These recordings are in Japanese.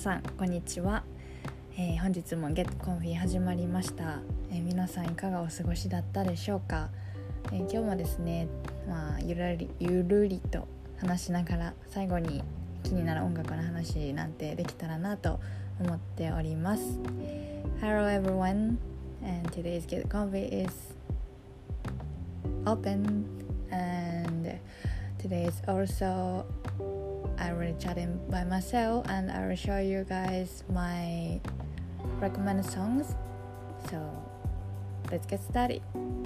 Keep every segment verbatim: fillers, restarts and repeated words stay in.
さんこんにちは、えー、本日も Get Comfy 始まりました、えー、皆さんいかがお過ごしだったでしょうか、えー、今日もですね、まあ、ゆるりゆるりと話しながら最後に気になる音楽の話なんてできたらなと思っております。 Hello everyone, and today's Get Comfy is open, and today is also I will chatting by myself, and I will show you guys my recommended songs. So let's get started.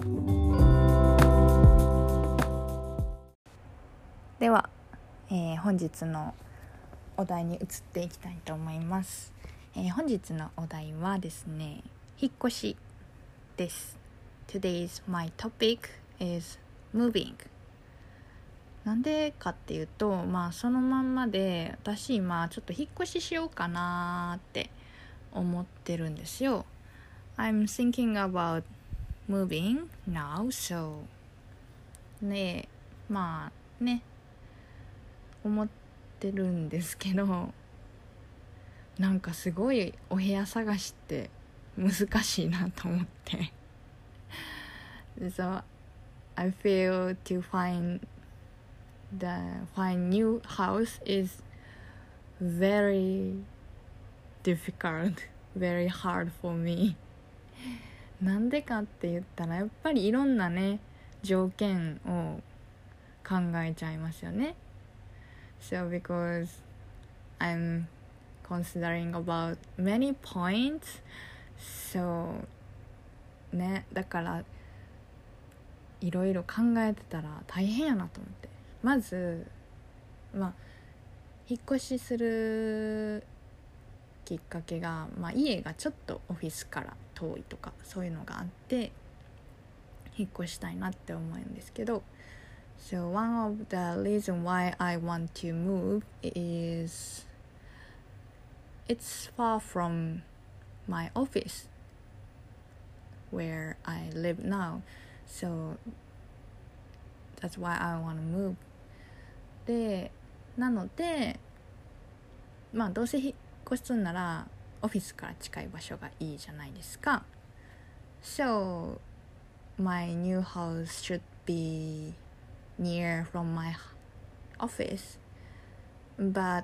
では、えー、本日のお題に移っていきたいと思います。えー、本日のお題はですね、引っ越しです。Today's my topic is moving.なんでかっていうと、まあそのまんまで私今ちょっと引っ越ししようかなって思ってるんですよ。I'm thinking about moving now, so ね、まあね思ってるんですけど、なんかすごいお部屋探しって難しいなと思ってSo I feel to find the find new house is very difficult, very hard for me. なんでかって言ったらやっぱりいろんなね条件を考えちゃいますよね。 So because I'm considering about many points, so ね、だからいろいろ考えてたら大変やなと思って、まず、まあ、引っ越しするきっかけが、まあ、家がちょっとオフィスから遠いとかそういうのがあって引っ越したいなって思うんですけど、 So one of the reason why I want to move is it's far from my office where I live now, so that's why I want to move.でなのでまあどうせ引っ越しするならオフィスから近い場所がいいじゃないですか。 So my new house should be near from my office, but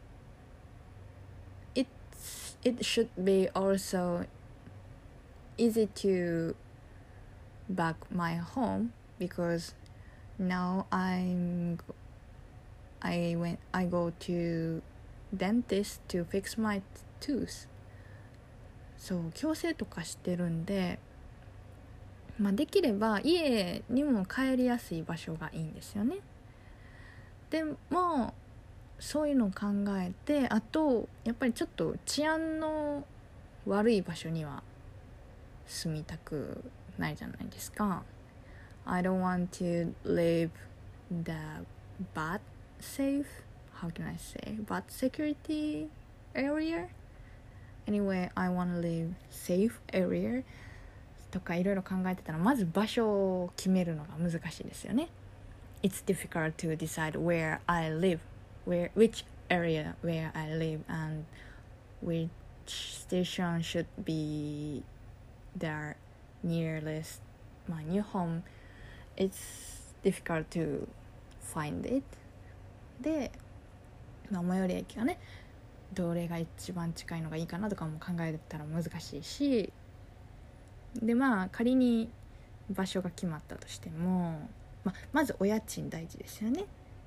it's, it should be also easy to back my home because now I'm I went I go to dentist to fix my tooth. そう矯正とかしてるんで、まあ、できれば家にも帰りやすい場所がいいんですよね。でもそういうのを考えて、あとやっぱりちょっと治安の悪い場所には住みたくないじゃないですか。 I don't want to live the bad safe, how can I say, but security area. Anyway, I want to live safe area とかいろいろ考えてたら、まず場所を決めるのが難しいですよね。 It's difficult to decide where I live, where, which area where I live, and which station should be the nearest my new home. It's difficult to find it.で、まあ、最寄り駅がねどれが一番近いのがいいかなとかも考えたら難しいし、でまあ仮に場所が決まったとしても、まあ、まずお家賃大事ですよね。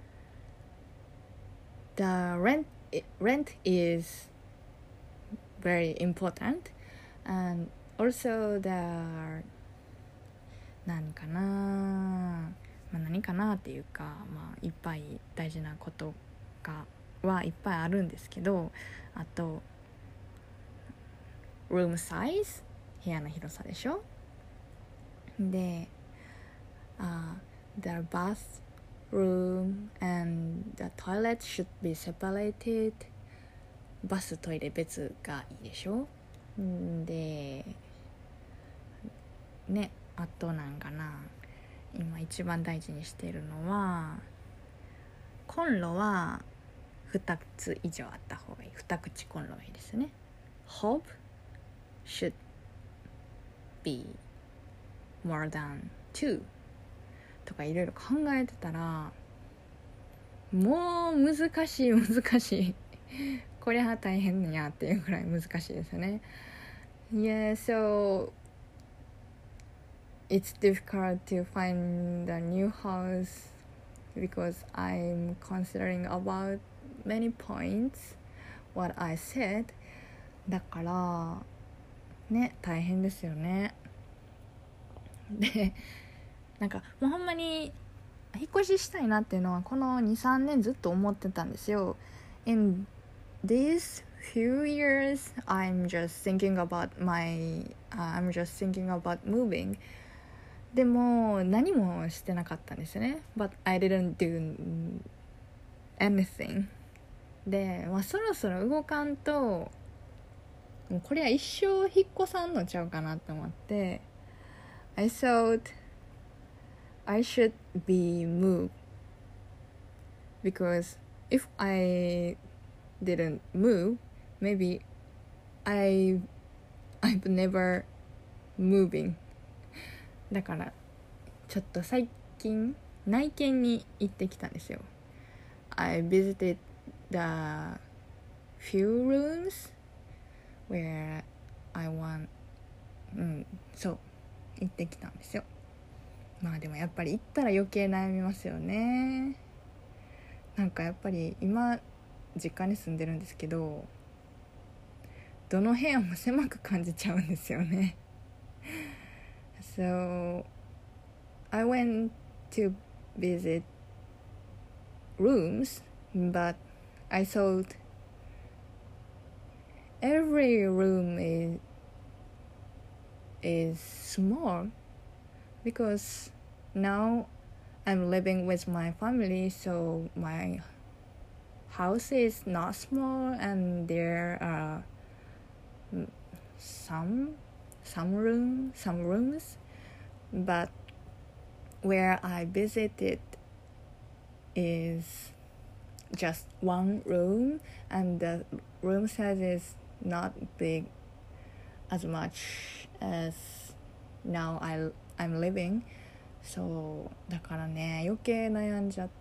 The rent, rent is very important, and also the 何かなまあ、何かなっていうか、まあ、いっぱい大事なことがはいっぱいあるんですけど、あと room size 部屋の広さでしょ。で、uh, the bathroom and the toilet should be separated. バストイレ別がいいでしょ。でね、あとなんかな今一番大事にしているのはコンロはふたつ以上あった方がいい。二口コンロがいいですね。 Hope should be more than two とかいろいろ考えてたら、もう難しい難しいこりゃ大変やっていうくらい難しいですよね。 Yeah, so it's difficult to find a new house because I'm considering about many points what I said. だからね、大変ですよね。で、なんかもうほんまに引っ越ししたいなっていうのはこの にさんねんずっと思ってたんですよ。 In these few years I'm just thinking about my、uh, I'm just thinking about moving. でも何もしてなかったんですよね。 But I didn't do anything. で、まあ、そろそろ動かんともうこれは一生引っ越さんのちゃうかなと思って、 I thought I should be moved because if I didn't move, maybe I I've never moving. だからちょっと最近内見に行ってきたんですよ。 I visited the few rooms where I want うんそう行ってきたんですよ。まあでもやっぱり行ったら余計悩みますよね。なんかやっぱり今実家に住んでるんですけど、どの部屋も狭く感じちゃうんですよね。So I went to visit rooms, but I thought every room is is small because now I'm living with my family, so my house is not small and there are some some room some rooms, but where I visited is just one room and the room size is not big as much as now I, I'm living. そうだからね、余計悩んじゃって、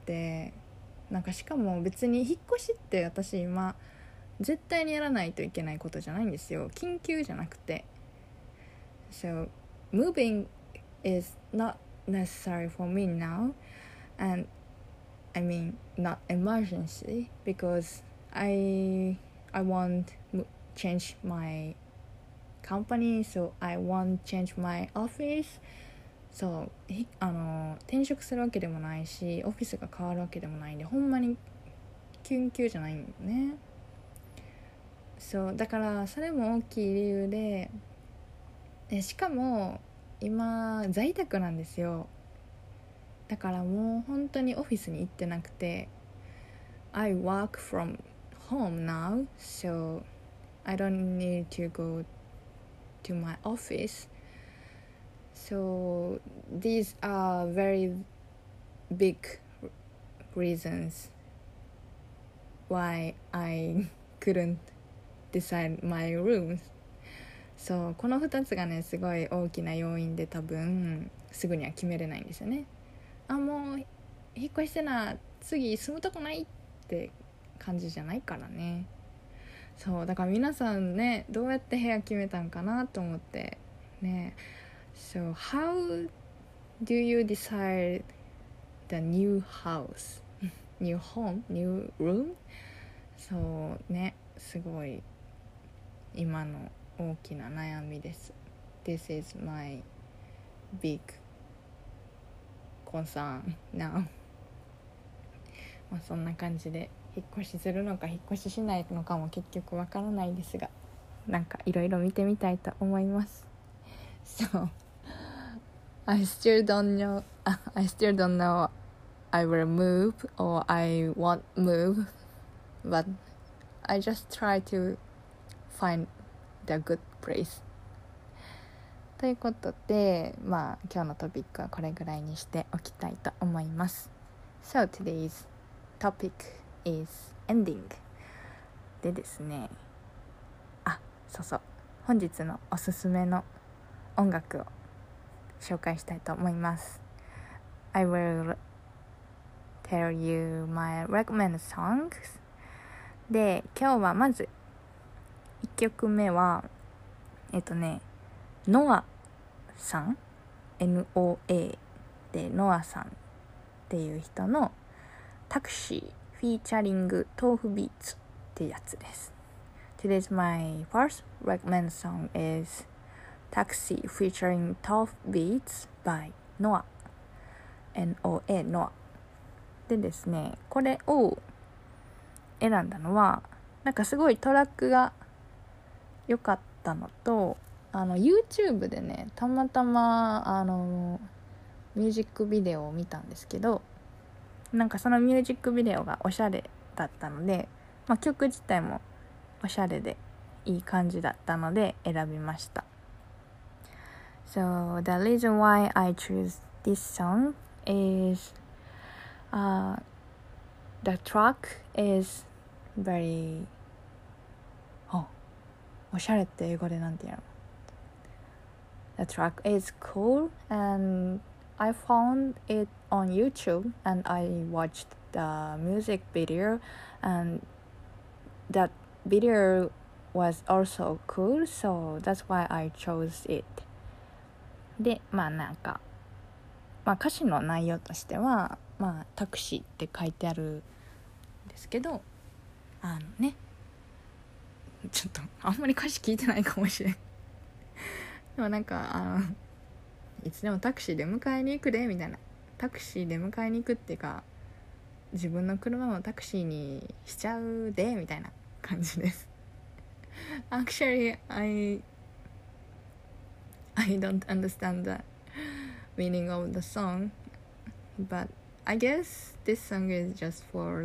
なんかしかも別に引っ越しって私今絶対にやらないといけないことじゃないんですよ。緊急じゃなくて。So moving is not necessary for me now, and I mean not emergency because I I want to change my company, so I want change my office. そうあの転職するわけでもないしオフィスが変わるわけでもないんで、ほんまに緊急じゃないんだよね。そうだからそれも大きい理由で、でしかも今在宅なんですよ。だからもう本当にオフィスに行ってなくて、 I work from home now, so I don't need to go to my office. So these are very big reasons why I couldn't decide my rooms. そうこのふたつがねすごい大きな要因で、多分すぐには決めれないんですよね。あ、もう引っ越してな、次住むとこないって感じじゃないからね。そうだから皆さんね、どうやって部屋決めたんかなと思ってね。So how do you decide the new house, new home, new room? そうね、すごい今の大きな悩みです。 This is my big concern now. まあそんな感じで引っ越しするのか引っ越ししないのかも結局わからないですが、なんかいろいろ見てみたいと思います。So I still don't know I still don't know I will move or I won't move, but I just try to find the good place. ということで、まあ今日のトピックはこれぐらいにしておきたいと思います。So today's topic is ending でですね、あ、そうそう、本日のおすすめの音楽を紹介したいと思います。 I will tell you my recommended songs で、今日はまずいっきょくめはえっとねノアさん エヌオーエー でノアさんっていう人のタクシーフィーチャリング豆腐ビーツってやつです。 Today's my first recommended song is Taxi featuring Tough Beats by Noah エヌオーエー ノアでですね、これを選んだのはなんかすごいトラックが良かったのと、あの YouTube でねたまたまあのミュージックビデオを見たんですけど、なんかそのミュージックビデオがおしゃれだったので、まあ、曲自体もおしゃれでいい感じだったので選びました。 So the reason why I choose this song is、uh, the track is very あ、おしゃれって英語でなんて言うの？ The track is cool and I found it on YouTube and I watched the music video and that video was also cool, so that's why I chose it. で、まあなんか、まあ歌詞の内容としては、まあタクシーって書いてあるんですけど、あのね、ちょっとあんまり歌詞聞いてないかもしれん。でもなんかあのいつでもタクシーで迎えに行くでみたいな、タクシーで迎えに行くっていうか自分の車もタクシーにしちゃうでみたいな感じです。Actually, I I don't understand the meaning of the song, but I guess this song is just for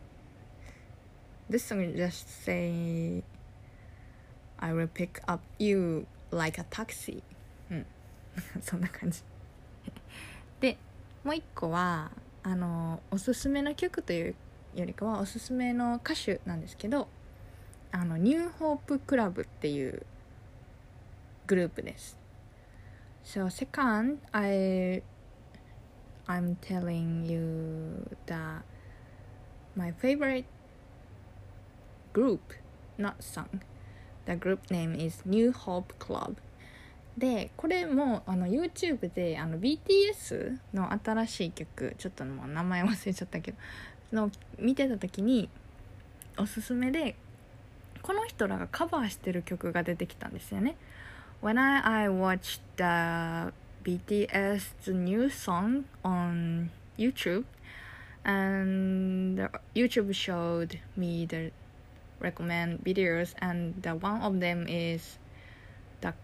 this song is just say I will pick up you like a taxi うんそんな感じで、もう一個はあのおすすめの曲というよりかはおすすめの歌手なんですけど、あのニューホープクラブっていうグループです。 So second, I I'm telling you that my favorite group, not song. The group name is New Hope Club. で、これもあの YouTube であの ビーティーエス の新しい曲、ちょっともう名前忘れちゃったけどの見てた時におすすめでこの人らがカバーしてる曲が出てきたんですよね。When I, I watched the ビーティーエス new song on YouTube and the YouTube showed me the recommend videos and the one of them is the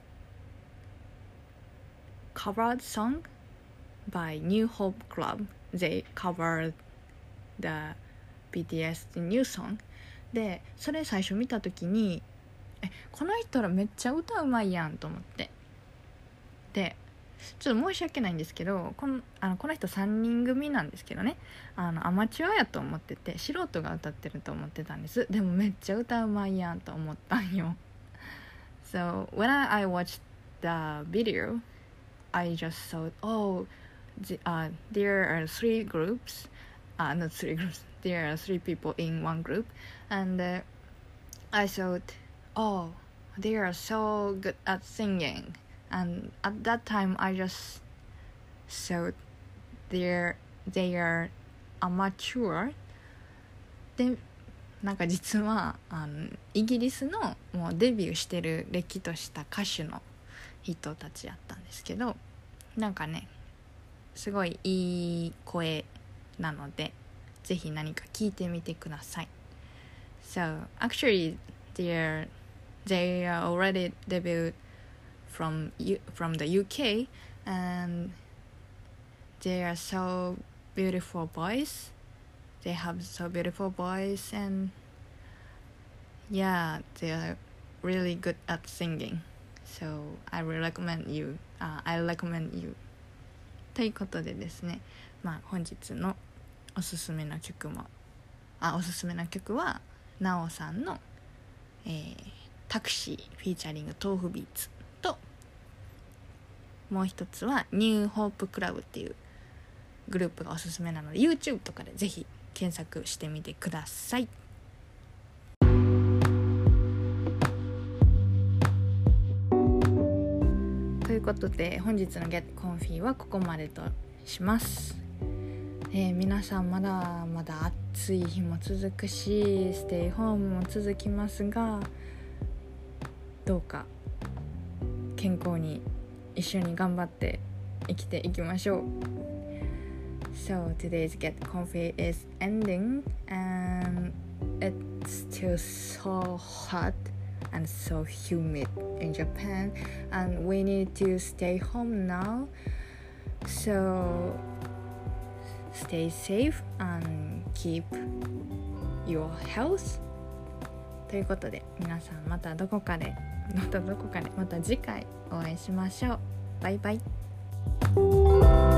covered song by New Hope Club. They covered the ビーティーエス new song で、それ最初見た時にえこの人らめっちゃ歌うまいやんと思って、でちょっと申し訳ないんですけど、このあのこの人さんにん組なんですけどね、あのアマチュアやと思ってて素人が歌ってると思ってたんです。でもめっちゃ歌うまいやんと思ったんよ。 So when I, I watched the video I just thought, oh, the, uh, there are three groups, uh, not three groups, there are three people in one group, and uh, I thought, oh, they are so good at singing, and at that time I just thought they're, they are amateur. で、なんか実はあのイギリスのもうデビューしてるれっきとした歌手の人たちやったんですけど、なんかねすごいいい声なのでぜひ何か聞いてみてください。 So actually they're, they are already debuted from, from the U K and they are so beautiful voice, they have so beautiful voice and yeah, they are really good at singing. So I will recommend you、uh, I recommend you ということでですね、まあ本日のおすすめの曲もあおすすめな曲はなおさんの、えー、タクシーフィーチャリング豆腐ビーツと、もう一つはニューホープクラブっていうグループがおすすめなので YouTube とかでぜひ検索してみてください。ということで本日の Get Comfy はここまでとします。えー、皆さんまだまだ暑い日も続くしステイホームも続きますが、どうか健康に一緒に頑張って生きていきましょう。 So today's Get Comfy is ending and it's still so hot and so humid in Japan and we need to stay home now, so stay safe and keep your health ということで皆さんまたどこかでまたどこかでまた次回お会いしましょう。バイバイ。